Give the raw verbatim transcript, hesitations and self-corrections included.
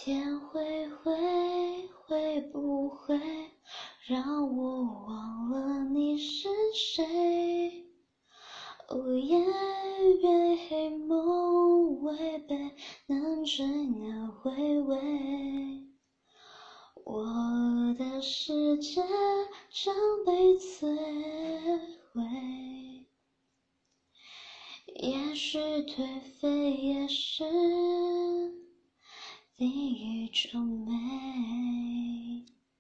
天会会会不会让我忘了你是谁？哦，夜月黑梦违背，难追难回味。我的世界将被摧毁，也许颓废也是另一种美。